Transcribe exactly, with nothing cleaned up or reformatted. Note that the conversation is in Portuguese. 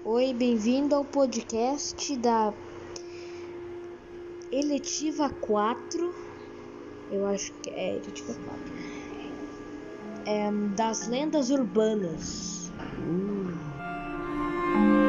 Oi, bem-vindo ao podcast da Eletiva quatro. Eu acho que é Eletiva quatro. É, das lendas urbanas. Uh.